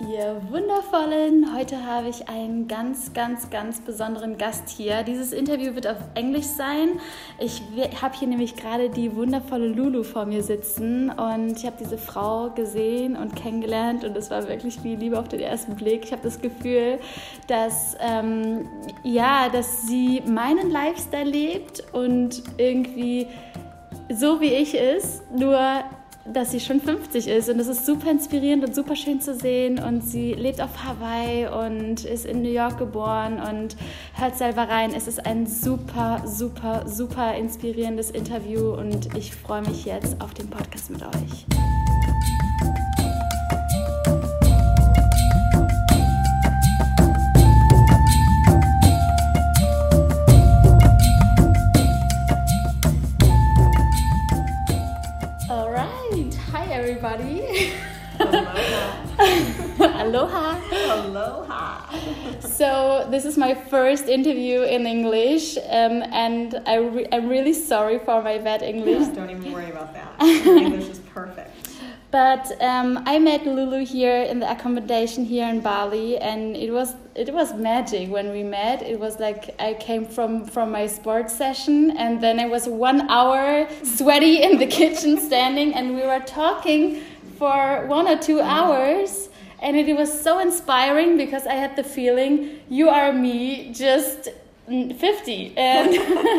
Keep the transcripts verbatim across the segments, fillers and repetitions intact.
Ihr Wundervollen, heute habe ich einen ganz, ganz, ganz besonderen Gast hier. Dieses Interview wird auf Englisch sein. Ich habe hier nämlich gerade die wundervolle Lulu vor mir sitzen und ich habe diese Frau gesehen und kennengelernt und es war wirklich wie Liebe auf den ersten Blick. Ich habe das Gefühl, dass, ähm, ja, dass sie meinen Lifestyle lebt und irgendwie so wie ich ist, nur dass sie schon fünfzig ist und das ist super inspirierend und super schön zu sehen und sie lebt auf Hawaii und ist in New York geboren und hört selber rein. Es ist ein super, super, super inspirierendes Interview und ich freue mich jetzt auf den Podcast mit euch. Everybody. Aloha. Aloha. Aloha. So this is my first interview in English, um, and I re- I'm really sorry for my bad English. Don't even worry about that. Your English is perfect. But um, I met Lulu here in the accommodation here in Bali, and it was it was magic when we met. It was like I came from, from my sports session, and then I was one hour sweaty in the kitchen standing, and we were talking for one or two hours, and it was so inspiring because I had the feeling you are me, just fifty, and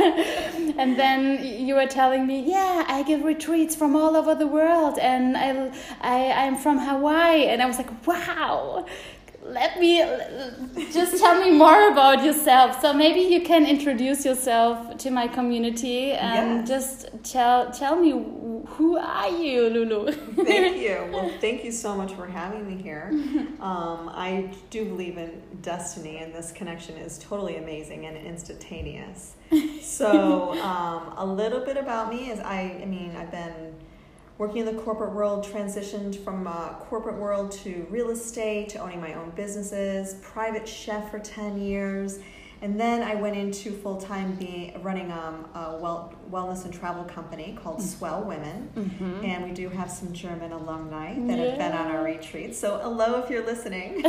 and then you were telling me, yeah, I give retreats from all over the world, and I, I I'm from Hawaii, and I was like, wow, let me just tell me more about yourself. So maybe you can introduce yourself to my community and yes. just tell tell me, who are you, Lulu? Thank you. Well, thank you so much for having me here. Um, I do believe in destiny, and this connection is totally amazing and instantaneous. So um, a little bit about me is I, I mean, I've been working in the corporate world, transitioned from uh, corporate world to real estate, to owning my own businesses, private chef for ten years. And then I went into full-time being running um, a well, wellness and travel company called mm-hmm. Swell Women. Mm-hmm. And we do have some German alumni that yeah. have been on our retreats. So hello if you're listening.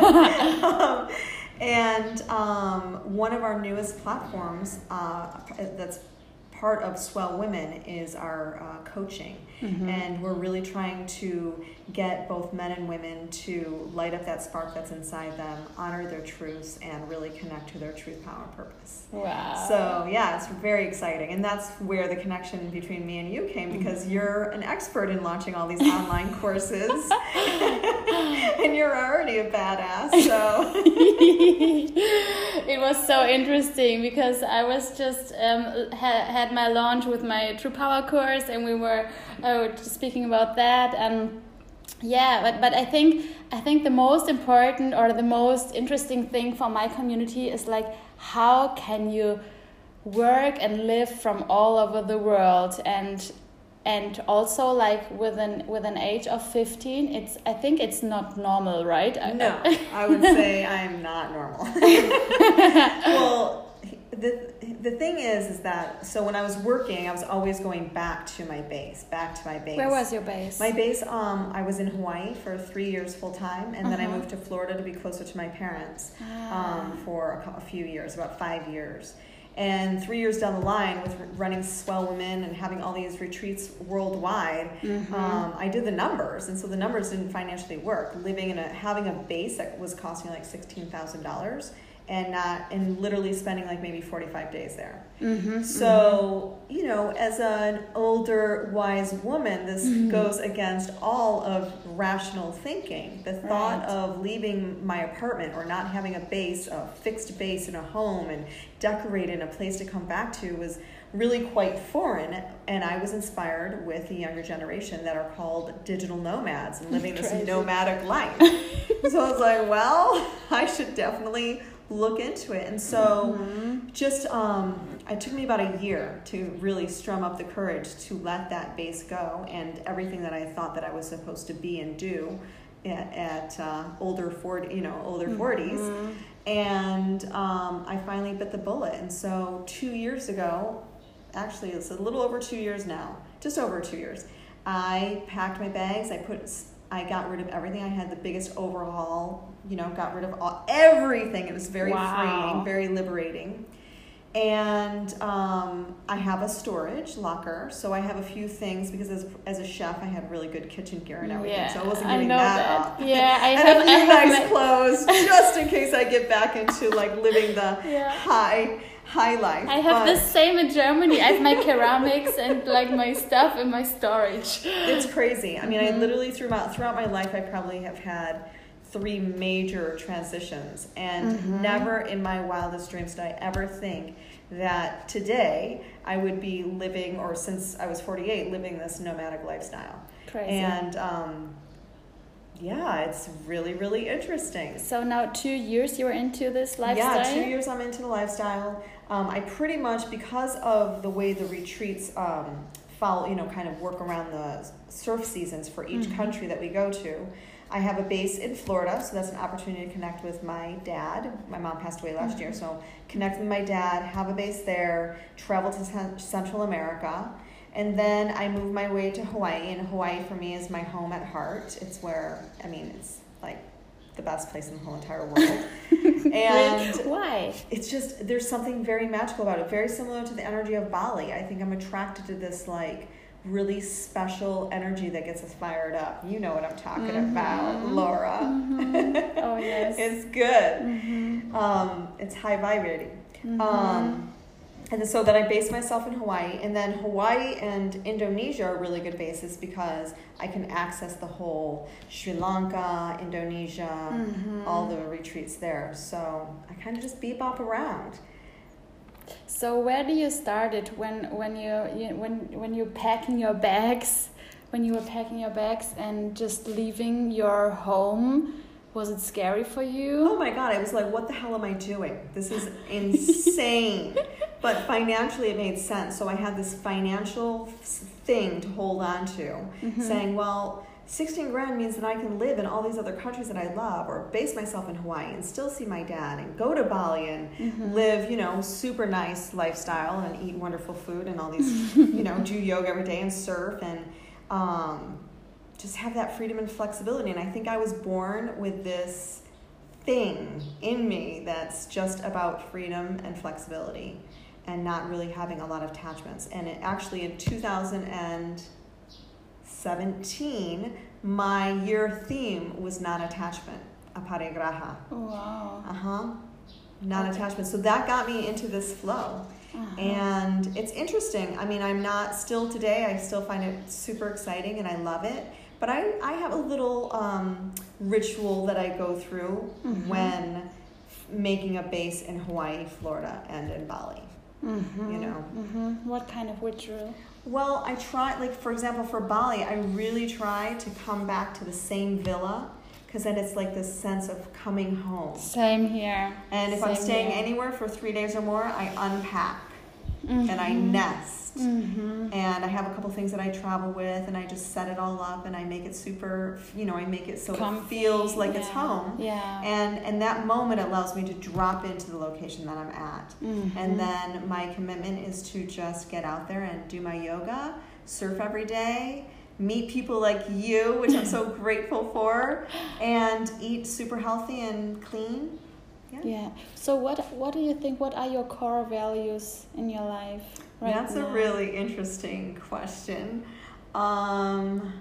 um, and um, one of our newest platforms uh, that's part of Swell Women is our uh, coaching. Mm-hmm. And we're really trying to get both men and women to light up that spark that's inside them, honor their truths, and really connect to their truth, power, and purpose. Wow. So yeah, it's very exciting. And that's where the connection between me and you came, because mm-hmm. you're an expert in launching all these online courses. And you're already a badass, so. It was so interesting because I was just um, ha- had my launch with my True Power course, and we were uh, speaking about that, and yeah, but but I think I think the most important or the most interesting thing for my community is like, how can you work and live from all over the world, and and also like with an with an age of fifteen, it's I think it's not normal, right? No, I would say I'm not normal. Well, the the thing is, is that so when I was working, I was always going back to my base, back to my base. Where was your base? My base, um, I was in Hawaii for three years full time, and uh-huh. then I moved to Florida to be closer to my parents ah. um, for a, a few years, about five years. And three years down the line, with running Swell Women and having all these retreats worldwide, mm-hmm. um, I did the numbers, and so the numbers didn't financially work. Living in a having a base that was costing like sixteen thousand dollars, and not and literally spending like maybe forty-five days there. Mm-hmm, so mm-hmm. you know, as an older wise woman, this mm-hmm. goes against all of rational thinking. The thought right. of leaving my apartment or not having a base, a fixed base in a home and decorated a place to come back to was really quite foreign, and I was inspired with the younger generation that are called digital nomads and living this nomadic life. So I was like, well, I should definitely look into it. And so mm-hmm. just um it took me about a year to really strum up the courage to let that base go, and everything that I thought that I was supposed to be and do at, at uh, older forty, you know, older forties. Mm-hmm. And um, I finally bit the bullet. And so two years ago, actually it's a little over two years now, just over two years, I packed my bags. I put I got rid of everything. I had the biggest overhaul, you know, got rid of all, everything. It was very wow. freeing, very liberating. And um, I have a storage locker, so I have a few things because as, as a chef, I had really good kitchen gear and everything, yeah, so I wasn't giving I know that, that up. Yeah, I and have, a few I have nice my... clothes, just in case I get back into like living the yeah. high high life. I have but the same in Germany. I have my ceramics and like my stuff in my storage. It's crazy. I mean, mm-hmm. I literally throughout throughout my life, I probably have had three major transitions, and mm-hmm. never in my wildest dreams did I ever think that today I would be living, or since I was forty-eight, living this nomadic lifestyle. Crazy. And um, yeah, it's really, really interesting. So now two years you're into this lifestyle? Yeah, two years I'm into the lifestyle. Um, I pretty much, because of the way the retreats um, follow, you know, kind of work around the surf seasons for each mm-hmm. country that we go to, I have a base in Florida, so that's an opportunity to connect with my dad. My mom passed away last mm-hmm. year, so connect with my dad, have a base there, travel to Central America, and then I move my way to Hawaii, and Hawaii for me is my home at heart. It's where, I mean, it's like the best place in the whole entire world. And why? It's just, there's something very magical about it, very similar to the energy of Bali. I think I'm attracted to this, like, really special energy that gets us fired up. You know what I'm talking mm-hmm. about, Laura. Mm-hmm. Oh, yes. It's good. Mm-hmm. Um, it's high vibrating. Mm-hmm. Um, and so then I base myself in Hawaii. And then Hawaii and Indonesia are really good bases because I can access the whole Sri Lanka, Indonesia, mm-hmm. all the retreats there. So I kind of just bebop around. So where do you start it when when you, you when when you're packing your bags, when you were packing your bags and just leaving your home? Was it scary for you? Oh my God, I was like, what the hell am I doing? This is insane. But financially it made sense. So I had this financial thing to hold on to, mm-hmm. saying, well, sixteen grand means that I can live in all these other countries that I love, or base myself in Hawaii and still see my dad and go to Bali and mm-hmm. live, you know, super nice lifestyle and eat wonderful food and all these, you know, do yoga every day and surf and um, just have that freedom and flexibility. And I think I was born with this thing in me that's just about freedom and flexibility and not really having a lot of attachments. And it actually in two thousand seventeen, my year theme was non-attachment, aparigraha. Wow. Uh-huh. Non-attachment. So that got me into this flow. Uh-huh. And it's interesting. I mean, I'm not still today, I still find it super exciting and I love it. But I, I have a little um, ritual that I go through mm-hmm. when making a base in Hawaii, Florida, and in Bali. Mm-hmm. You know. Mm-hmm. What kind of ritual? Well, I try, like, for example, for Bali, I really try to come back to the same villa because then it's like this sense of coming home. Same here. And if Same I'm staying here. anywhere for three days or more, I unpack mm-hmm. and I nest. Mm-hmm. And I have a couple things that I travel with and I just set it all up and I make it super, you know, I make it so Comfy, it feels like yeah. it's home. Yeah. And and that moment allows me to drop into the location that I'm at. Mm-hmm. And then my commitment is to just get out there and do my yoga, surf every day, meet people like you, which I'm so grateful for, and eat super healthy and clean. Yeah. Yeah. So what what do you think, what are your core values in your life? Right That's now? a really interesting question. Um,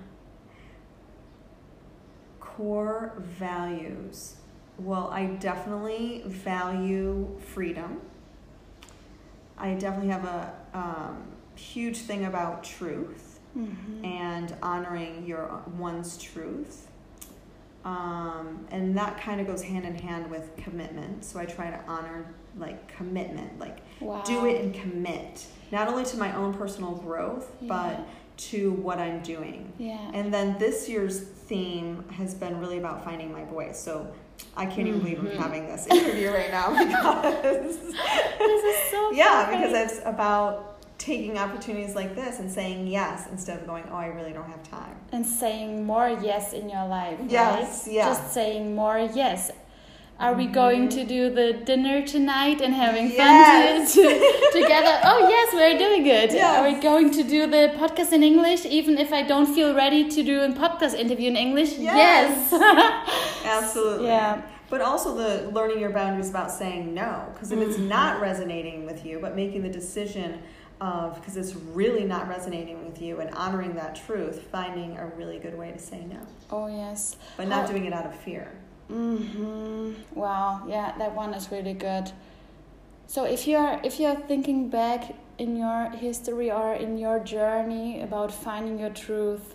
core values. Well, I definitely value freedom. I definitely have a um, huge thing about truth mm-hmm. and honoring your one's truth. Um, and that kind of goes hand in hand with commitment. So I try to honor like commitment, like wow. do it and commit. Not only to my own personal growth, yeah. but to what I'm doing. Yeah. And then this year's theme has been really about finding my voice. So I can't even believe I'm having this interview right now because this is so yeah, funny. because it's about taking opportunities like this and saying yes instead of going, oh, I really don't have time. And saying more yes in your life. Yes, right? yeah. Just saying more yes. Are we going to do the dinner tonight and having Yes. fun to, to, together? Oh, yes, we're doing it. Yes. Are we going to do the podcast in English, even if I don't feel ready to do a podcast interview in English? Yes. Yes. Absolutely. Yeah. But also the learning your boundaries about saying no. Because if it's not resonating with you, but making the decision of, because it's really not resonating with you, and honoring that truth, finding a really good way to say no. Oh, yes. But not How- doing it out of fear. Mm-hmm. Wow, yeah, that one is really good. So if you're if you're thinking back in your history or in your journey about finding your truth,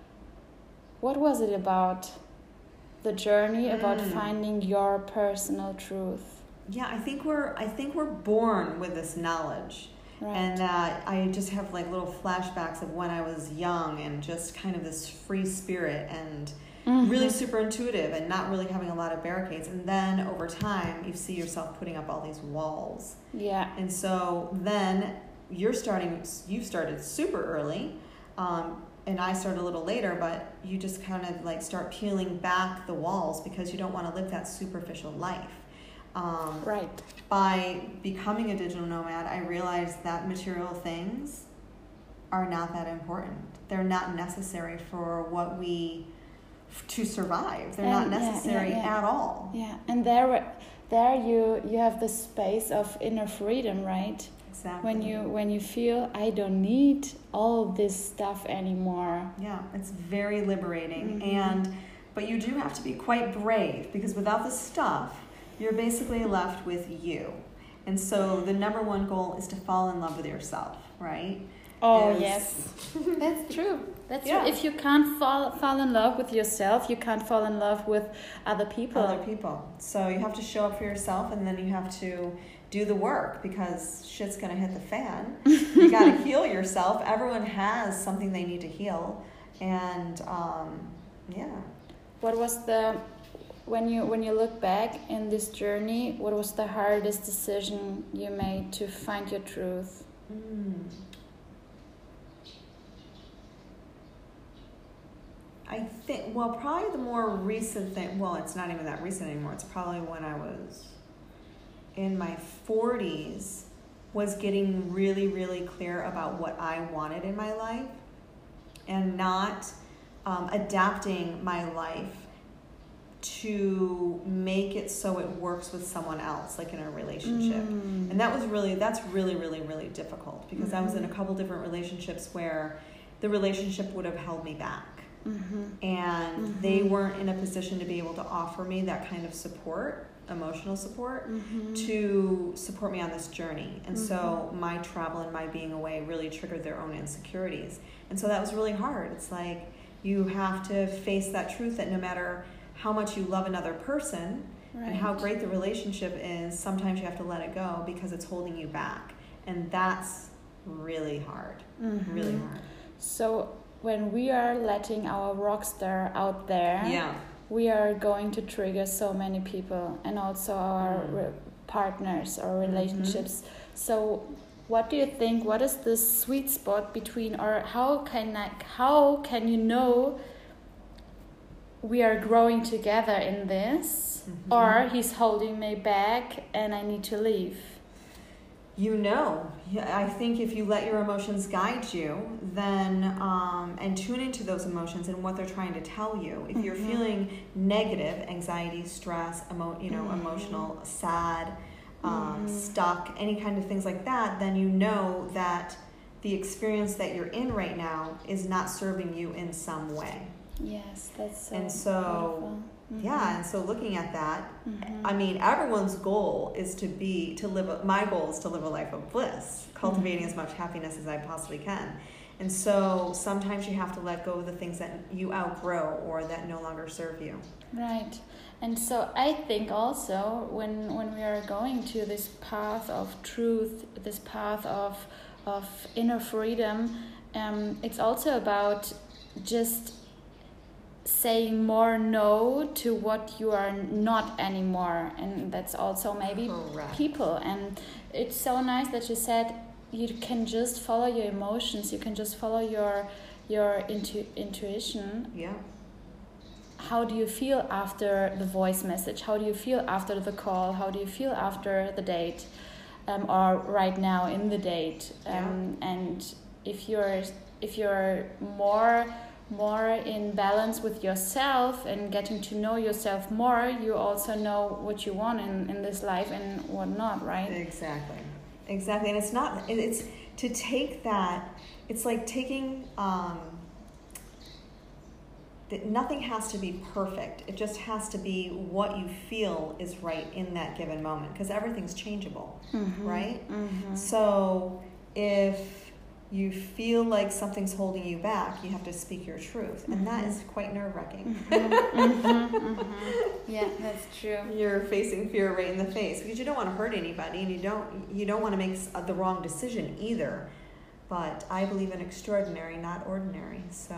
what was it about? The journey about Mm. finding your personal truth. Yeah, I think we're I think we're born with this knowledge. Right. And uh, I just have like little flashbacks of when I was young and just kind of this free spirit and Mhm. really super intuitive and not really having a lot of barricades. And then over time, you see yourself putting up all these walls. Yeah. And so then you're starting, you started super early, um, and I started a little later, but you just kind of like start peeling back the walls because you don't want to live that superficial life. Um, Right. By becoming a digital nomad, I realized that material things are not that important. They're not necessary for what we, to survive. They're not And, yeah, necessary yeah, yeah. at all. Yeah, and there, there you you have the space of inner freedom, right? Exactly. When you when you feel I don't need all this stuff anymore. Yeah, it's very liberating. Mhm. And but you do have to be quite brave, because without the stuff, you're basically left with you. And so the number one goal is to fall in love with yourself, right? Oh Is- yes, that's true. That's Yeah. true. If you can't fall fall in love with yourself, you can't fall in love with other people. Other people. So you have to show up for yourself, and then you have to do the work, because shit's gonna hit the fan. You gotta heal yourself. Everyone has something they need to heal, and um, yeah. What was the when you when you look back in this journey? What was the hardest decision you made to find your truth? Mm. I think, well, probably the more recent thing, well, it's not even that recent anymore. It's probably when I was in my forties, was getting really, really clear about what I wanted in my life, and not um, adapting my life to make it so it works with someone else, like in a relationship. Mm. And that was really, that's really, really, really difficult, because I was in a couple different relationships where the relationship would have held me back. Mm-hmm. And Mhm. they weren't in a position to be able to offer me that kind of support, emotional support, Mm-hmm. to support me on this journey. And so my travel and my being away really triggered their own insecurities. And so that was really hard. It's like you have to face that truth that no matter how much you love another person Right. and how great the relationship is, sometimes you have to let it go because it's holding you back. And that's really hard, Mhm. really hard. So when we are letting our rock star out there, Yeah. we are going to trigger so many people, and also our Mm. re- partners or relationships. So what do you think, what is the sweet spot between, or how can I, how can you know we are growing together in this, Mhm. or he's holding me back and I need to leave? You know, yeah, I think if you let your emotions guide you, then um, and tune into those emotions and what they're trying to tell you. If you're Mhm. feeling negative, anxiety, stress, emo- you know, Mhm. emotional, sad, um, Mhm. stuck, any kind of things like that, then you know that the experience that you're in right now is not serving you in some way. Yes, that's so And so, beautiful. Mhm. Yeah, and so looking at that, Mhm. I mean, everyone's goal is to be, to live, a, my goal is to live a life of bliss, cultivating as much happiness as I possibly can. And so sometimes you have to let go of the things that you outgrow or that no longer serve you. Right. And so I think also when when we are going to this path of truth, this path of of inner freedom, um, it's also about just saying more no to what you are not anymore, and that's also maybe Correct. people. And it's so nice that you said you can just follow your emotions, you can just follow your your intu- intuition. Yeah. how do you feel after the voice message? How do you feel after the call? How do you feel after the date? Um, or right now in the date? Um, yeah. And if you're if you're more more in balance with yourself and getting to know yourself more, you also know what you want in, in this life and what not, right? Exactly. Exactly. And it's not, it's to take that, it's like taking, um, that nothing has to be perfect. It just has to be what you feel is right in that given moment, because everything's changeable, mm-hmm. right? Mm-hmm. So if you feel like something's holding you back, you have to speak your truth. And mm-hmm. that is quite nerve-wracking. Mm-hmm. mm-hmm. Mm-hmm. Yeah, that's true. You're facing fear right in the face because you don't want to hurt anybody, and you don't you don't want to make the wrong decision either. But I believe in extraordinary, not ordinary. So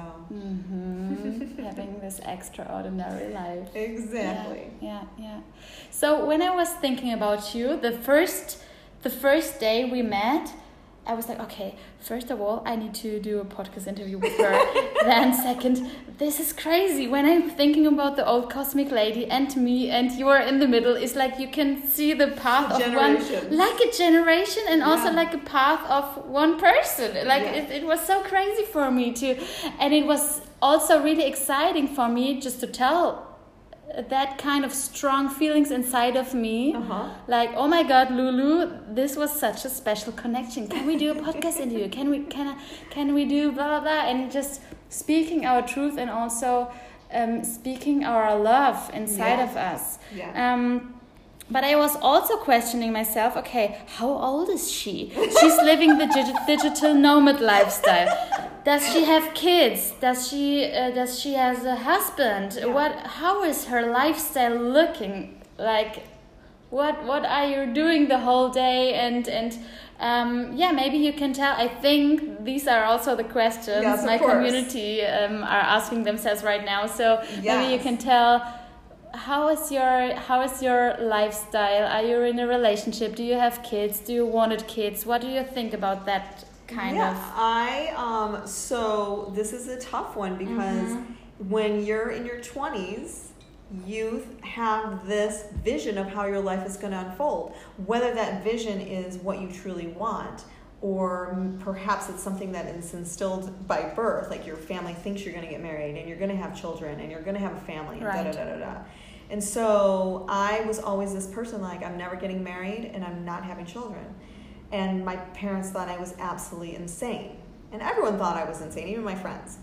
mm-hmm. having this extraordinary life. Exactly. Yeah, yeah, yeah. So when I was thinking about you, the first the first day we met, I was like, okay, first of all, I need to do a podcast interview with her. Then second, this is crazy. When I'm thinking about the old cosmic lady and me and you are in the middle, it's like you can see the path of one, like a generation, and yeah. also like a path of one person. Like yeah. it, it was so crazy for me too. And it was also really exciting for me just to tell that kind of strong feelings inside of me, uh-huh. like, oh my God, Lulu, this was such a special connection. Can we do a podcast interview? Can we can I, can we do blah blah blah? And just speaking our truth and also um, speaking our love inside yeah. of us. Yeah. Um, but I was also questioning myself. Okay, how old is she? She's living the dig- digital nomad lifestyle. Does she have kids? Does she uh, does she has a husband? Yeah. What? How is her lifestyle looking like? What What are you doing the whole day? And and um, yeah, maybe you can tell. I think these are also the questions yes, my course. community um, are asking themselves right now. So yes. maybe you can tell. How is your How is your lifestyle? Are you in a relationship? Do you have kids? Do you wanted kids? What do you think about that? Kind yeah, of. I um so this is a tough one because mm-hmm. when you're in your twenties, you have this vision of how your life is going to unfold. Whether that vision is what you truly want, or perhaps it's something that is instilled by birth, like your family thinks you're going to get married and you're going to have children and you're going to have a family, and right. da da da da da. And so I was always this person like, I'm never getting married and I'm not having children. And my parents thought I was absolutely insane. And everyone thought I was insane, even my friends.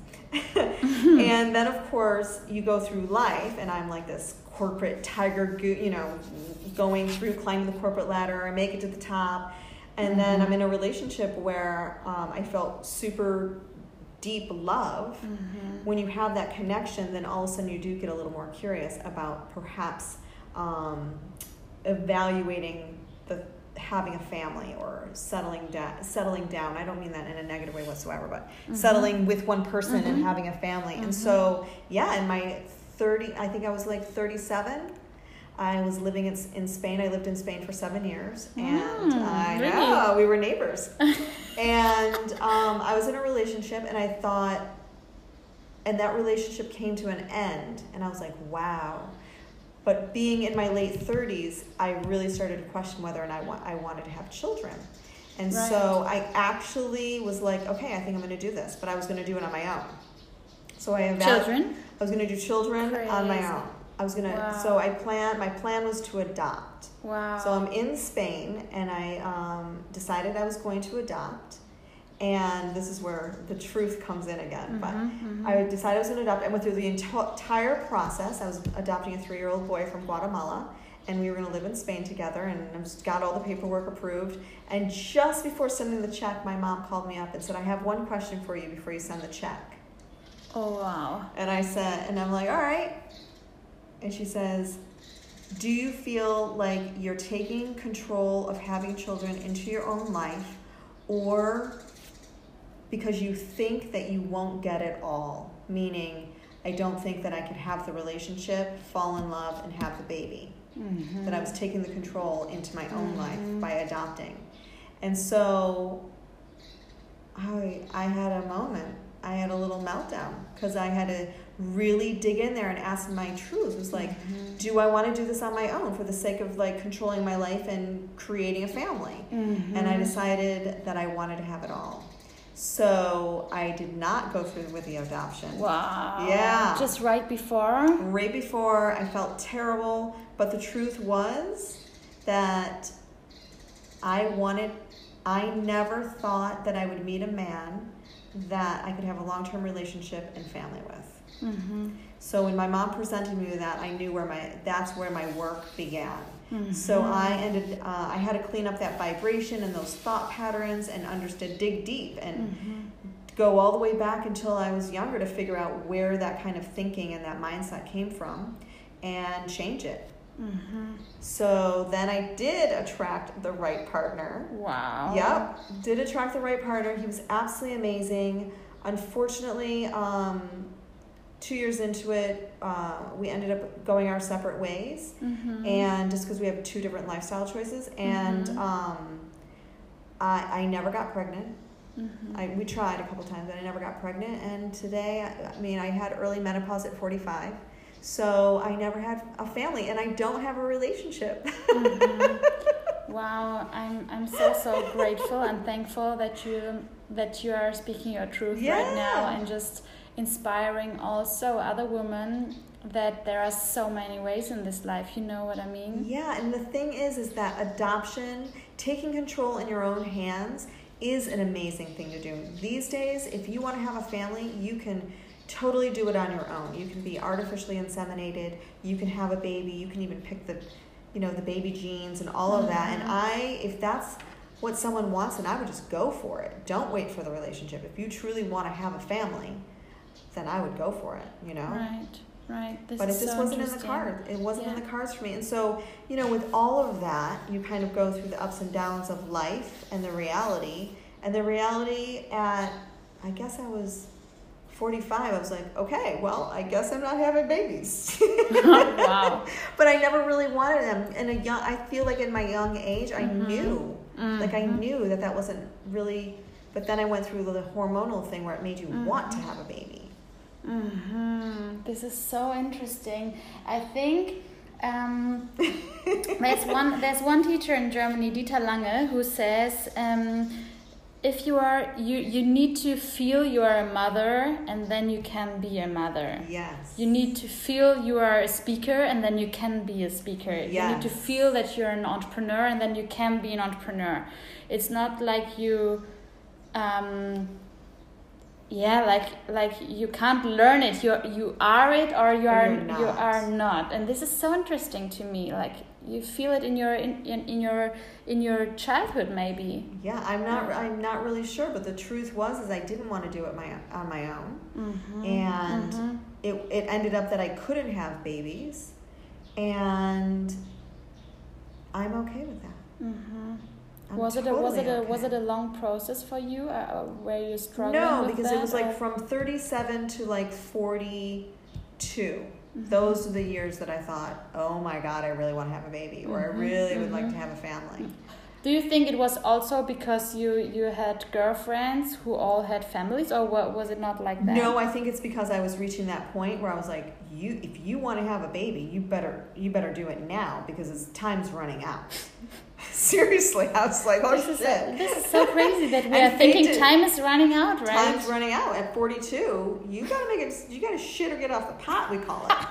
And then, of course, you go through life, and I'm like this corporate tiger, go- you know, going through, climbing the corporate ladder. I make it to the top. And mm-hmm. then I'm in a relationship where um, I felt super deep love. Mm-hmm. When you have that connection, then all of a sudden you do get a little more curious about perhaps um, evaluating the having a family or settling down. Settling down. I don't mean that in a negative way whatsoever, but mm-hmm. settling with one person mm-hmm. and having a family. Mm-hmm. And so, yeah, in my thirty, I think I was like thirty-seven. I was living in, in Spain. I lived in Spain for seven years, and mm, I really? know we were neighbors. And um, I was in a relationship, and I thought, and that relationship came to an end, and I was like, wow. But being in my late thirties, I really started to question whether or not I, wa- I wanted to have children. And right. so I actually was like, okay, I think I'm going to do this, but I was going to do it on my own. So I evalu- Children? I was going to do children Crazy. on my own. I was gonna. Wow. So I plan. My plan was to adopt. Wow. So I'm in Spain, and I um, decided I was going to adopt. And this is where the truth comes in again. Mm-hmm, but mm-hmm. I decided I was going to adopt. I went through the enti- entire process. I was adopting a three-year-old boy from Guatemala, and we were going to live in Spain together. And I just got all the paperwork approved. And just before sending the check, my mom called me up and said, "I have one question for you before you send the check." Oh wow. And I said, and I'm like, all right. And she says, do you feel like you're taking control of having children into your own life, or because you think that you won't get it all? Meaning, I don't think that I could have the relationship, fall in love, and have the baby. Mm-hmm. That I was taking the control into my own mm-hmm. life by adopting. And so I I had a moment. I had a little meltdown because I had to really dig in there and ask my truth. It was like, mm-hmm. do I want to do this on my own for the sake of like controlling my life and creating a family? Mm-hmm. And I decided that I wanted to have it all. So I did not go through with the adoption. Wow. Yeah. Just right before? Right before. I felt terrible. But the truth was that I wanted, I never thought that I would meet a man that I could have a long-term relationship and family with. Mm-hmm. So when my mom presented me with that, I knew where my, that's where my work began. Mm-hmm. So I ended, uh, I had to clean up that vibration and those thought patterns and understood, dig deep and mm-hmm. go all the way back until I was younger to figure out where that kind of thinking and that mindset came from and change it. Mm-hmm. So then I did attract the right partner. Wow. Yep. Did attract the right partner. He was absolutely amazing. Unfortunately, um, two years into it, uh, we ended up going our separate ways. Mm-hmm. And just because we have two different lifestyle choices. And mm-hmm. um, I, I never got pregnant. Mm-hmm. I, we tried a couple times, but I never got pregnant. And today, I, I mean, I had early menopause at forty-five. So I never had a family, and I don't have a relationship. Mm-hmm. Wow, I'm I'm so so grateful and thankful that you that you are speaking your truth yeah. right now and just inspiring also other women that there are so many ways in this life. You know what I mean? Yeah, and the thing is, is that adoption, taking control in your own hands, is an amazing thing to do. These days, if you want to have a family, you can totally do it on your own. You can be artificially inseminated. You can have a baby. You can even pick the, you know, the baby genes and all of that. And I, if that's what someone wants, then I would just go for it. Don't wait for the relationship. If you truly want to have a family, then I would go for it, you know? Right, right. This but it is just so wasn't in the cards. It wasn't yeah. in the cards for me. And so, you know, with all of that, you kind of go through the ups and downs of life and the reality. And the reality at, I guess I was forty-five, I was like, okay, well, I guess I'm not having babies. Wow. But I never really wanted them. In a young, I feel like in my young age, I mm-hmm. knew, mm-hmm. like I knew that that wasn't really, but then I went through the hormonal thing where it made you mm-hmm. want to have a baby. Mm-hmm. This is so interesting. I think um, there's one there's one teacher in Germany, Dieter Lange, who says, um, if you are, you, you need to feel you are a mother and then you can be a mother. Yes. You need to feel you are a speaker and then you can be a speaker. Yes. You need to feel that you're an entrepreneur and then you can be an entrepreneur. It's not like you, um, yeah, like like you can't learn it. You you are it or you are you are not. And this is so interesting to me. Like you feel it in your in, in, in your in your childhood maybe. Yeah, I'm not I'm not really sure, but the truth was is I didn't want to do it my on my own. Mm-hmm. And mm-hmm. it it ended up that I couldn't have babies, and I'm okay with that. Mm-hmm. I'm was it a was it a okay. was it a long process for you? Uh, where you struggled? No, with because that, it was or? like from thirty-seven to like forty-two. Mm-hmm. Those are the years that I thought, oh my God, I really want to have a baby, or mm-hmm. I really would mm-hmm. like to have a family. Do you think it was also because you, you had girlfriends who all had families, or what, was it not like that? No, I think it's because I was reaching that point where I was like, you, if you want to have a baby, you better you better do it now because it's, time's running out. Seriously, I was like, oh this shit. Is a, this is so crazy that we are thinking it. Time is running out, right? Time's running out. At forty-two, you gotta make it, you gotta shit or get off the pot, we call it.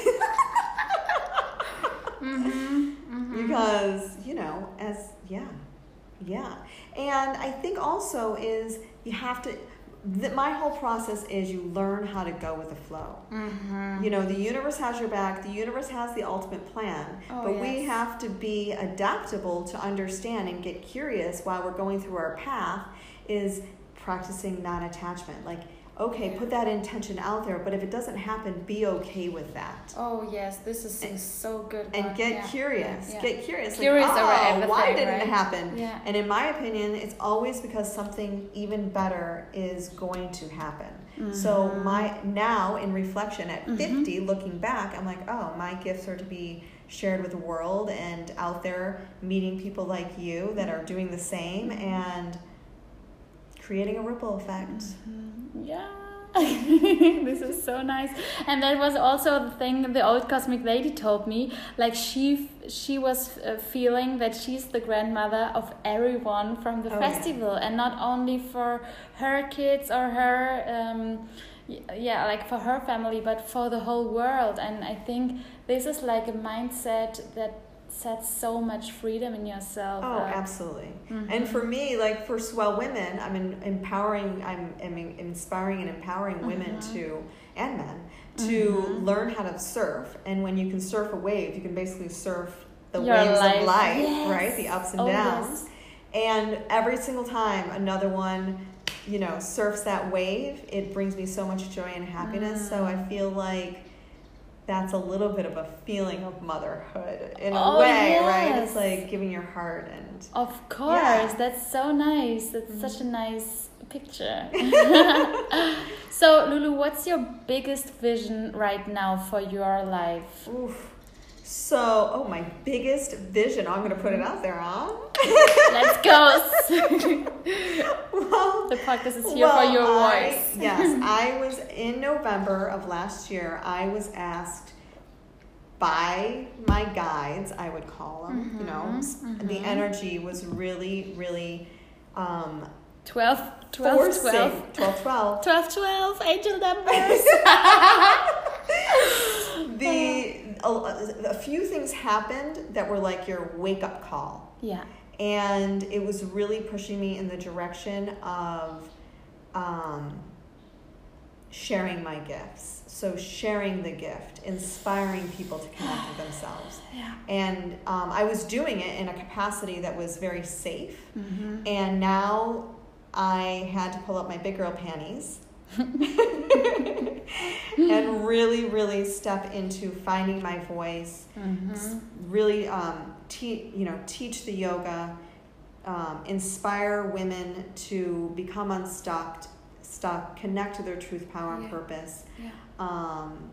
mm-hmm, mm-hmm. Because, you know, as, yeah, yeah. And I think also is you have to, that my whole process is you learn how to go with the flow. Mm-hmm. You know, the universe has your back. The universe has the ultimate plan. Oh, but yes. we have to be adaptable to understand and get curious while we're going through our path is practicing non-attachment. Like, okay, put that intention out there, but if it doesn't happen, be okay with that. Oh, yes, this is and, so good. And one. get yeah. curious. Yeah. Get curious. Curious like, over oh, everything, why didn't right? it happen? Yeah. And in my opinion, it's always because something even better is going to happen. Mm-hmm. So my now, in reflection at mm-hmm. fifty, looking back, I'm like, oh, my gifts are to be shared with the world and out there meeting people like you that are doing the same and creating a ripple effect. Mm-hmm. Yeah. This is so nice. And that was also the thing the old cosmic lady told me. Like she she was uh, feeling that she's the grandmother of everyone from the oh, festival, yeah. and not only for her kids or her um yeah like for her family, but for the whole world. And I think this is like a mindset that sets so much freedom in yourself. Oh, uh, absolutely. Mm-hmm. And for me, like for Swell Women, I'm in, empowering, I'm, I'm inspiring and empowering mm-hmm. women to, and men, to mm-hmm. learn how to surf. And when you can surf a wave, you can basically surf the Your waves life. of life, Yes. right? The ups and oh, downs. Yes. And every single time another one, you know, surfs that wave, it brings me so much joy and happiness. Mm. So I feel like that's a little bit of a feeling of motherhood in a oh, way, yes. right? It's like giving your heart and... Of course, yeah. that's so nice. That's Mm-hmm. such a nice picture. So, Lulu, what's your biggest vision right now for your life? Oof. So, oh, my biggest vision. I'm going to put it out there, huh? Let's go. Well, the podcast is here well, for your I, voice. Yes, I was in November of last year. I was asked by my guides, I would call them, mm-hmm, you know, mm-hmm. the energy was really, really um, twelve, twelve, forcing, twelve. twelve, twelve. twelve, twelve, angel numbers. the a, a few things happened that were like your wake-up call. Yeah. And it was really pushing me in the direction of um, sharing my gifts. So sharing the gift, inspiring people to connect with themselves. Yeah. And um, I was doing it in a capacity that was very safe. Mm-hmm. And now I had to pull up my big girl panties and really, really step into finding my voice. Mm-hmm. Really, um, te- you know, teach the yoga, um, inspire women to become unstuck, stuck, connect to their truth, power, and yeah. purpose. Yeah. Um,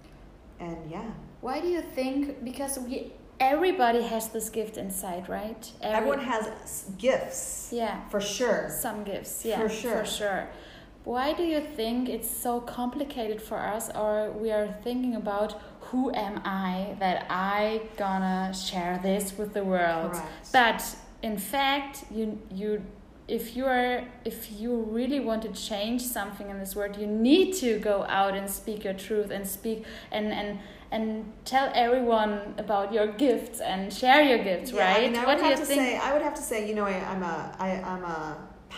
and yeah. Why do you think? Because we everybody has this gift inside, right? Every, Everyone has gifts. Yeah. For sure. Some gifts. Yeah. For sure. For sure. Why do you think it's so complicated for us, or we are thinking about who am I that I gonna share this with the world? Correct. But in fact, you you if you are if you really want to change something in this world, you need to go out and speak your truth and speak and and and tell everyone about your gifts and share your gifts, yeah, right? I mean, I what would do have you to think? say, I would have to say, you know, I, I'm a I, I'm a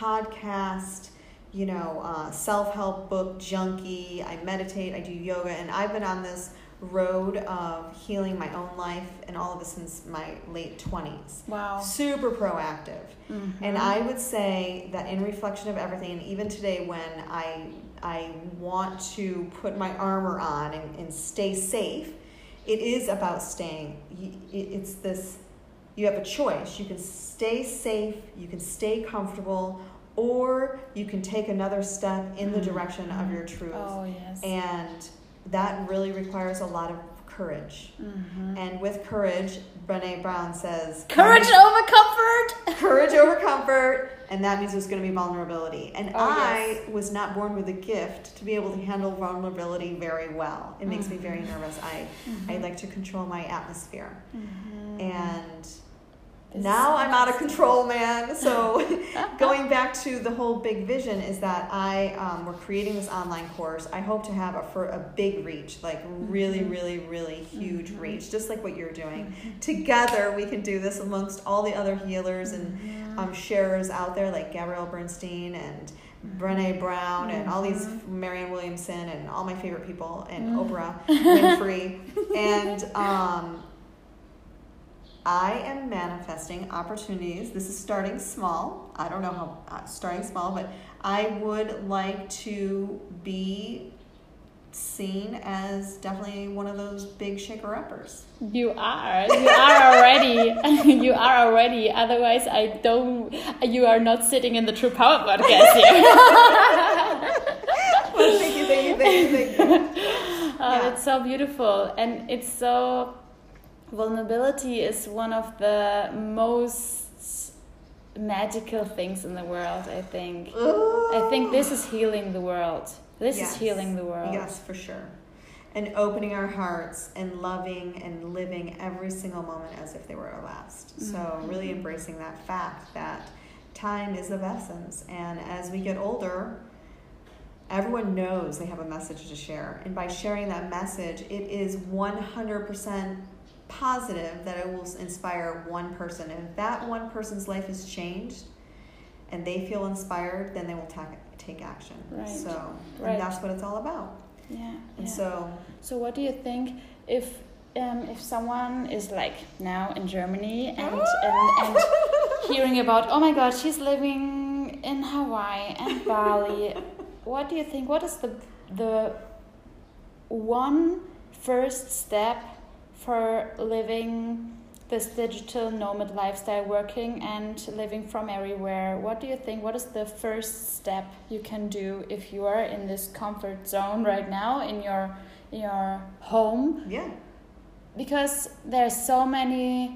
podcast, you know, uh, self-help book junkie. I meditate, I do yoga, and I've been on this road of healing my own life and all of this since my late twenties. Wow. Super proactive. Mm-hmm. And I would say that in reflection of everything, and even today when I I want to put my armor on and, and stay safe, it is about staying. It's this, you have a choice. You can stay safe, you can stay comfortable, or you can take another step in the direction of your truth. Oh, yes. And that really requires a lot of courage. Mm-hmm. And with courage, Brené Brown says... Courage over comfort! Courage over comfort. And that means there's going to be vulnerability. And oh, I yes. was not born with a gift to be able to handle vulnerability very well. It makes mm-hmm. me very nervous. I, mm-hmm. I like to control my atmosphere. Mm-hmm. And... This now I'm out of control, man. So going back to the whole big vision is that I um, we're creating this online course. I hope to have a for a big reach, like really, mm-hmm. really, really huge mm-hmm. reach, just like what you're doing. Mm-hmm. Together, we can do this amongst all the other healers and mm-hmm. um, sharers out there, like Gabrielle Bernstein and Brené Brown mm-hmm. and all these Marianne Williamson and all my favorite people and mm-hmm. Oprah Winfrey and. Um, I am manifesting opportunities. This is starting small. I don't know how, uh, starting small, but I would like to be seen as definitely one of those big shaker-uppers. You are. You are already. You are already. Otherwise, I don't, you are not sitting in the True Power podcast here. Well, thank you, thank you, thank you, thank you. Oh, yeah. It's so beautiful. And it's so... Vulnerability is one of the most magical things in the world, I think. Ooh. I think this is healing the world. This Yes. is healing the world. Yes, for sure. And opening our hearts and loving and living every single moment as if they were our last. So Mm-hmm. really embracing that fact that time is of essence. And as we get older, everyone knows they have a message to share. And by sharing that message, it is one hundred percent positive that it will inspire one person. And if that one person's life is changed and they feel inspired, then they will ta- take action. Right. So Right. and that's what it's all about. Yeah. And yeah. so So what do you think if um, if someone is like now in Germany and, and and hearing about, oh my God, she's living in Hawaii and Bali, what do you think? What is the the one first step for living this digital nomad lifestyle, working and living from everywhere? What do you think? What is the first step you can do if you are in this comfort zone right now in your in your home? yeah. Because there's so many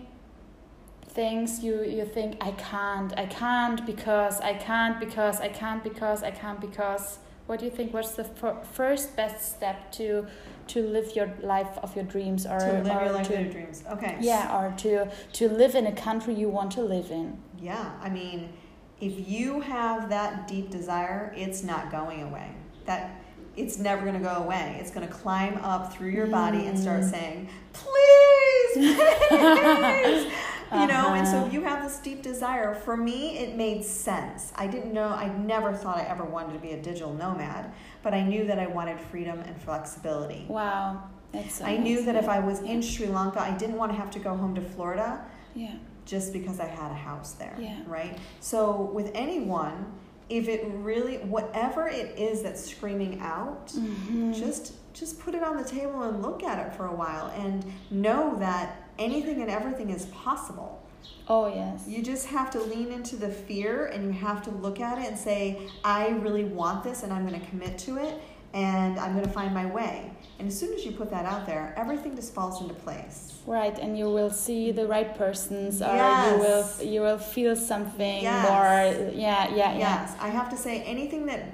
things you you think I can't, I can't because I can't because I can't because I can't because. What do you think? What's the f- first best step to to live your life of your dreams, or To live or your life to, of your dreams. Okay. yeah, or to to live in a country you want to live in? Yeah. I mean, if you have that deep desire, it's not going away. That it's never going to go away. It's going to climb up through your body and start saying, please, please. You know, and so if you have this deep desire, for me, it made sense. I didn't know, I never thought I ever wanted to be a digital nomad, but I knew that I wanted freedom and flexibility. Wow, that's so I knew nice. that if I was in Sri Lanka, I didn't want to have to go home to Florida Yeah. just because I had a house there, Yeah. right? So with anyone, if it really, whatever it is that's screaming out, Mm-hmm. just just put it on the table and look at it for a while and know that anything and everything is possible. Oh yes. You just have to lean into the fear and you have to look at it and say, I really want this and I'm going to commit to it and I'm going to find my way. And as soon as you put that out there, everything just falls into place. Right, and you will see the right persons, or Yes. you will you will feel something Yes. more. Yeah, yeah, yeah. Yes, I have to say anything that,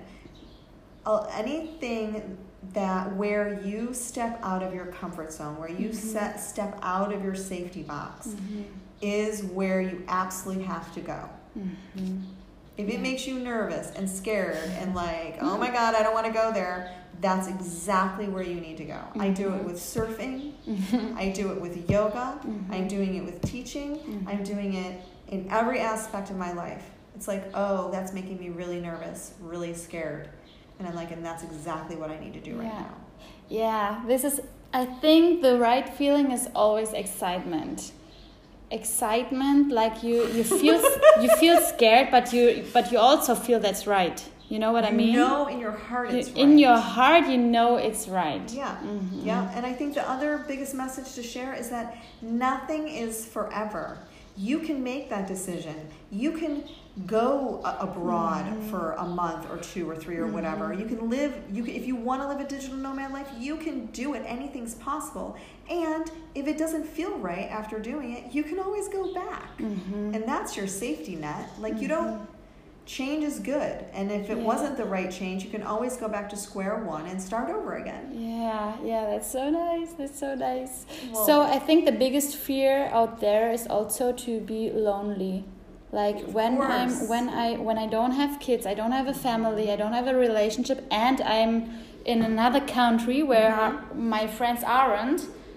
uh, anything that where you step out of your comfort zone, where you Mm-hmm. set step out of your safety box, Mm-hmm. is where you absolutely have to go. Mm-hmm. If it makes you nervous and scared and like, oh my God, I don't want to go there, that's exactly where you need to go. I do it with surfing. I do it with yoga. I'm doing it with teaching. I'm doing it in every aspect of my life. It's like, oh, that's making me really nervous, really scared. And I'm like, and that's exactly what I need to do right Yeah. now. Yeah, this is, I think the right feeling is always excitement. Excitement, like you, you feel you feel scared, but you but you also feel that's right. You know what I mean? You know in your heart You- it's right. in your heart, you know it's right. Yeah, Mhm. yeah. And I think the other biggest message to share is that nothing is forever. You can make that decision. You can go a- abroad Mm-hmm. for a month or two or three or whatever. You can live. You can, if you want to live a digital nomad life, you can do it. Anything's possible. And if it doesn't feel right after doing it, you can always go back. Mm-hmm. And that's your safety net. Like you don't. Change is good, and if it Yeah. wasn't the right change, you can always go back to square one and start over again. Yeah, yeah, that's so nice. That's so nice. Well- so I think the biggest fear out there is also to be lonely. Like Of when course. I'm when I when I don't have kids, I don't have a family, I don't have a relationship, and I'm in another country where Mhm. my friends aren't.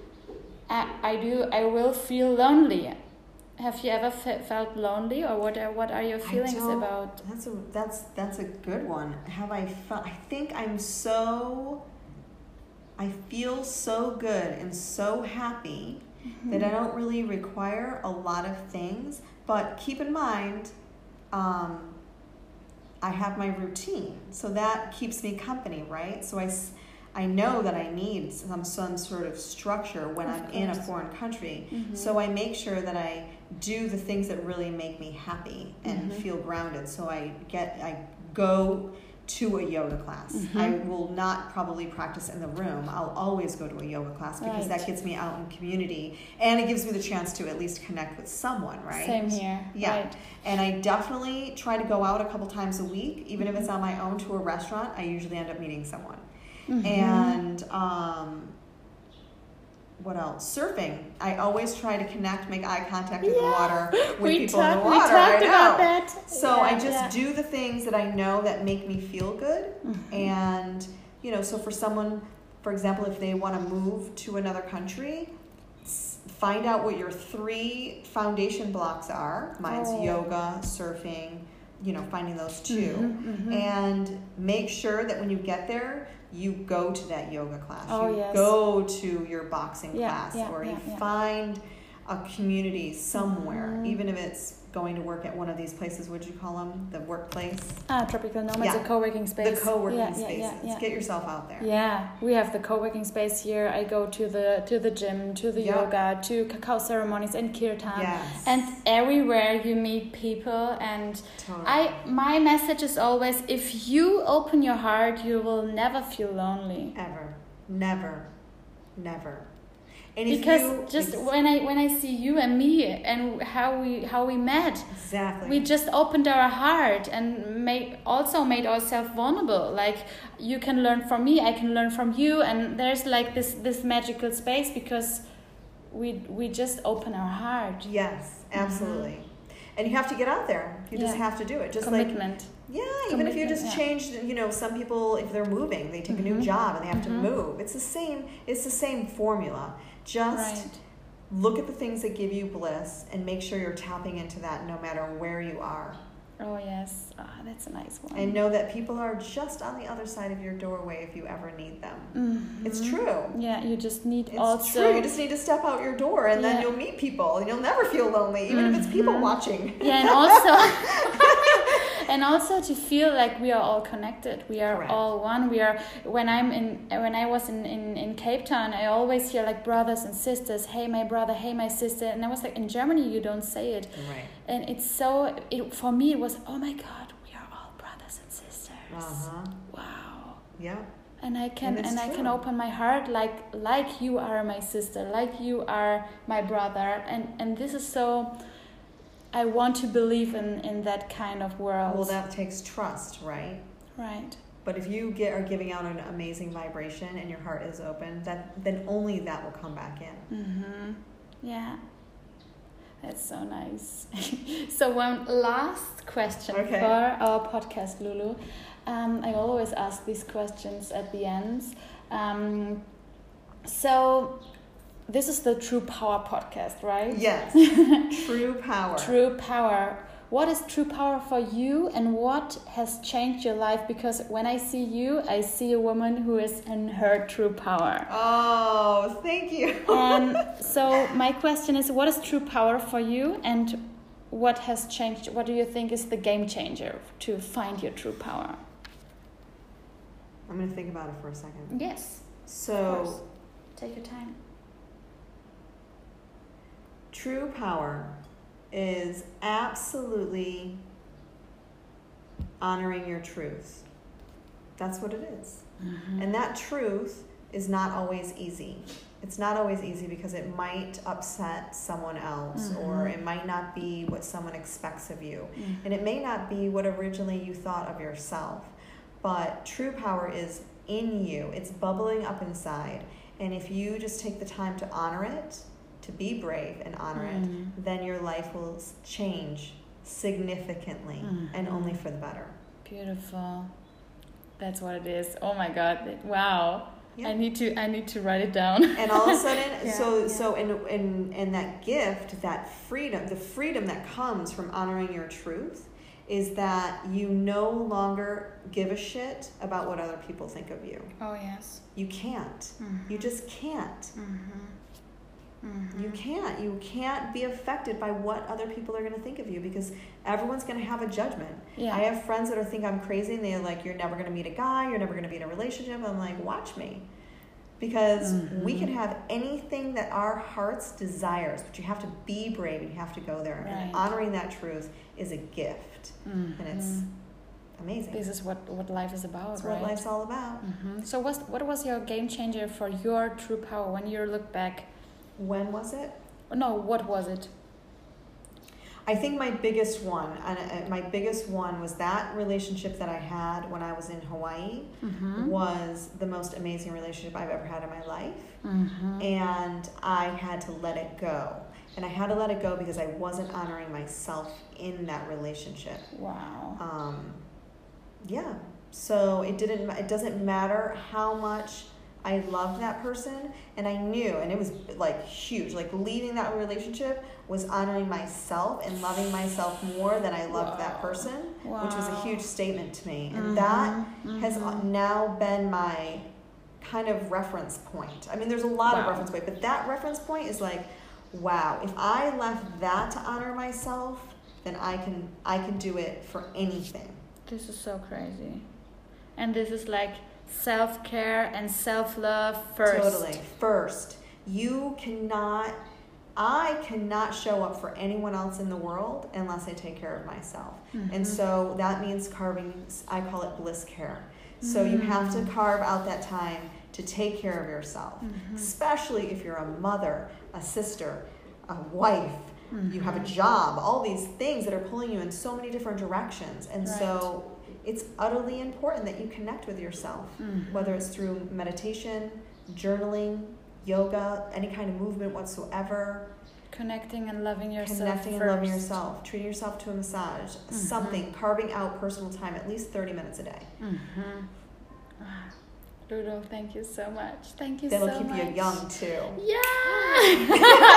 I, I do. I will feel lonely. Have you ever fe- felt lonely, or what? Are, what are your I feelings don't- about? That's a that's that's a good one. Have I felt? I think I'm so. I feel so good and so happy that I don't really require a lot of things. But keep in mind, um, I have my routine, so that keeps me company, right? So I, s- I know that I need some some sort of structure when Of I'm in a course. foreign country. Mhm. So I make sure that I do the things that really make me happy and Mhm. feel grounded. So I get I go to a yoga class. Mm-hmm. I will not probably practice in the room. I'll always go to a yoga class because right. that gets me out in community and it gives me the chance to at least connect with someone, right? Same here. Yeah. Right. And I definitely try to go out a couple times a week, even mm-hmm. if it's on my own to a restaurant. I usually end up meeting someone. Mm-hmm. And um, what else? Surfing. I always try to connect, make eye contact in yeah. the water with we people talk, in the water. We talked I know. about that. So yeah, I just yeah. do the things that I know that make me feel good. Mm-hmm. And, you know, so for someone, for example, if they want to move to another country, find out what your three foundation blocks are. Mine's oh. yoga, surfing, you know, finding those two. Mm-hmm, mm-hmm. And make sure that when you get there, you go to that yoga class. Oh, you yes. go to your boxing yeah, class yeah, or yeah, you yeah. find a community somewhere, mm-hmm. even if it's going to work at one of these places. What do you call them? The workplace? Ah, Tropical Nomads, yeah. a co-working space. The co-working yeah, spaces. Yeah, yeah, yeah. Get yourself out there. Yeah, we have the co-working space here. I go to the to the gym, to the yep. yoga, to cacao ceremonies and kirtan. Yes. And everywhere you meet people. And totally. I my message is always, if you open your heart, you will never feel lonely. Ever. Never. Never. And because you, just ex- when I when I see you and me and how we how we met, exactly, we just opened our heart and made also made ourselves vulnerable. Like, you can learn from me, I can learn from you, and there's like this this magical space because we we just open our heart. Yes, absolutely. Mm-hmm. And you have to get out there. You just yeah. have to do it. Just commitment. Like yeah, commitment, even if you just yeah. change, you know, some people, if they're moving, they take mm-hmm. a new job and they have mm-hmm. to move. It's the same. It's the same formula. Just right. look at the things that give you bliss and make sure you're tapping into that no matter where you are. Oh, yes. Oh, that's a nice one. And know that people are just on the other side of your doorway if you ever need them. Mm-hmm. It's true. Yeah, you just need it's also... true. You just need to step out your door and yeah. then you'll meet people. And you'll never feel lonely, even mm-hmm. if it's people watching. Yeah, and also... And also to feel like we are all connected. We are Correct. all one. We are. When I'm in, when I was in, in, in Cape Town, I always hear like brothers and sisters. Hey, my brother. Hey, my sister. And I was like, in Germany, you don't say it. Right. And it's so. It, for me, it was, oh my God, we are all brothers and sisters. Uh-huh. Wow. Yeah. And I can and, and I can open my heart like like you are my sister, like you are my brother, and and this is so. I want to believe in, in that kind of world. Well, that takes trust, right? Right. But if you get are giving out an amazing vibration and your heart is open, that then only that will come back in. Mm-hmm. Yeah. That's so nice. So one last question okay. for our podcast, Lulu. Um, I always ask these questions at the end. Um, so... This is the True Power podcast, right? Yes. True Power. True Power. What is true power for you, and what has changed your life? Because when I see you, I see a woman who is in her true power. Oh, thank you. And so my question is, what is true power for you, and what has changed? What do you think is the game changer to find your true power? I'm going to think about it for a second. Yes. So, take your time. True power is absolutely honoring your truth. That's what it is. Mm-hmm. And that truth is not always easy. It's not always easy because it might upset someone else, mm-hmm. or it might not be what someone expects of you. Mm-hmm. And it may not be what originally you thought of yourself. But true power is in you. It's bubbling up inside. And if you just take the time to honor it, to be brave and honor mm-hmm. it, then your life will change significantly, mm-hmm. and only for the better. Beautiful. That's what it is. Oh my God! Wow. Yeah. I need to. I need to write it down. And all of a sudden, yeah, so yeah. so in in in that gift, that freedom, the freedom that comes from honoring your truth, is that you no longer give a shit about what other people think of you. Oh yes. You can't. Mm-hmm. You just can't. Mm-hmm. Mm-hmm. You can't. You can't be affected by what other people are going to think of you, because everyone's going to have a judgment. Yeah. I have friends that are think I'm crazy, and they're like, "You're never going to meet a guy. You're never going to be in a relationship." I'm like, "Watch me," because mm-hmm. we can have anything that our hearts desires, but you have to be brave and you have to go there. Right. And honoring that truth is a gift, mm-hmm. and it's amazing. This is what, what life is about, That's right? what life's all about. Mm-hmm. So what's, what was your game changer for your true power when you look back? When was it? No, what was it? I think my biggest one, and my biggest one was that relationship that I had when I was in Hawaii mm-hmm. was the most amazing relationship I've ever had in my life. Mm-hmm. And I had to let it go. And I had to let it go because I wasn't honoring myself in that relationship. Wow. Um, yeah. So it didn't. It doesn't matter how much I loved that person, and I knew, and it was like huge. Like leaving that relationship was honoring myself and loving myself more than I loved wow. that person, wow. which was a huge statement to me. And mm-hmm. that mm-hmm. has now been my kind of reference point. I mean, there's a lot wow. of reference point, but that reference point is like, wow, if I left that to honor myself, then I can I can do it for anything. This is so crazy. And this is like self-care and self-love first. Totally. First. You cannot, I cannot show up for anyone else in the world unless I take care of myself. Mm-hmm. And so that means carving, I call it bliss care. So mm-hmm. you have to carve out that time to take care of yourself, mm-hmm. especially if you're a mother, a sister, a wife, mm-hmm. you have a job, all these things that are pulling you in so many different directions. And right. so it's utterly important that you connect with yourself, mm-hmm. whether it's through meditation, journaling, yoga, any kind of movement whatsoever. Connecting and loving yourself Connecting first. and loving yourself. Treating yourself to a massage. Mm-hmm. Something. Carving out personal time, at least thirty minutes a day. Mm-hmm. Lulu, thank you so much. Thank you That'll so much. That'll keep you young, too. Yeah!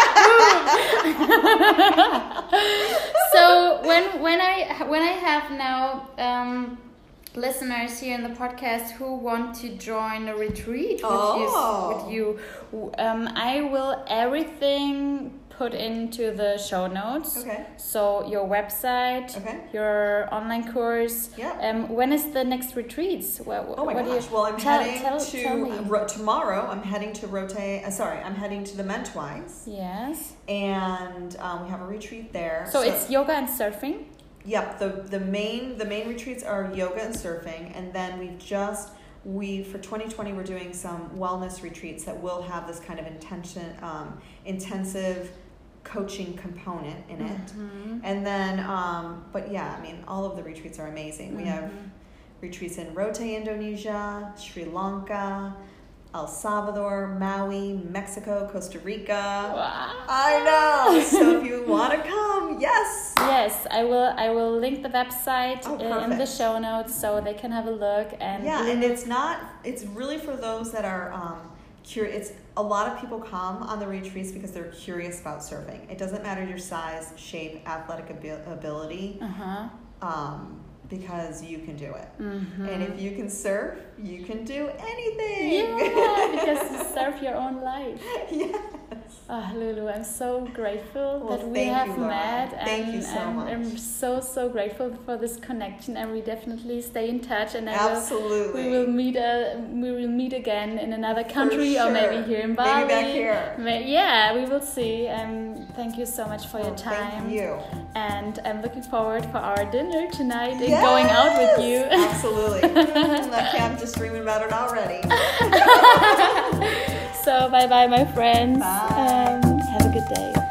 So when when I when I have now um, listeners here in the podcast who want to join a retreat with oh. you, with you um, I will everything put into the show notes. Okay. So your website, okay. your online course. Yeah. Um, when is the next retreats? What, oh my what gosh! Do you, well, I'm tell, heading tell, to tell ro- tomorrow. I'm heading to Rote. Uh, sorry, I'm heading to the Mentwise. Yes. And um, we have a retreat there. So, so it's yoga and surfing. Yep. the the main the main retreats are yoga and surfing, and then we've just. We for twenty twenty we're doing some wellness retreats that will have this kind of intention, um, intensive coaching component in it. Mm-hmm. And then, um, but yeah, I mean, all of the retreats are amazing. Mm-hmm. We have retreats in Rote, Indonesia, Sri Lanka, El Salvador, Maui, Mexico, Costa Rica. Wow. I know. So if you want to come, yes. Yes, I will. I will link the website oh, in the show notes so they can have a look. And yeah, and it's not. It's really for those that are um, curious. It's a lot of people come on the retreats because they're curious about surfing. It doesn't matter your size, shape, athletic abil- ability. Uh-huh. Um, because you can do it. Mm-hmm. And if you can surf, you can do anything. Yeah, because you surf your own life. Yes. Oh, Lulu, I'm so grateful well, that we have you, met. Thank and, you so and much. I'm so, so grateful for this connection, and we definitely stay in touch. And I Absolutely. Will, we will meet. Uh, we will meet again in another country, sure. or maybe here in Bali. Maybe back here. Maybe, yeah, we will see. Um, thank you so much for well, your time. Thank you. And I'm looking forward for our dinner tonight yes! and going out with you. Absolutely. Lucky I'm just dreaming about it already. So bye bye, my friends. Bye. Um, have a good day.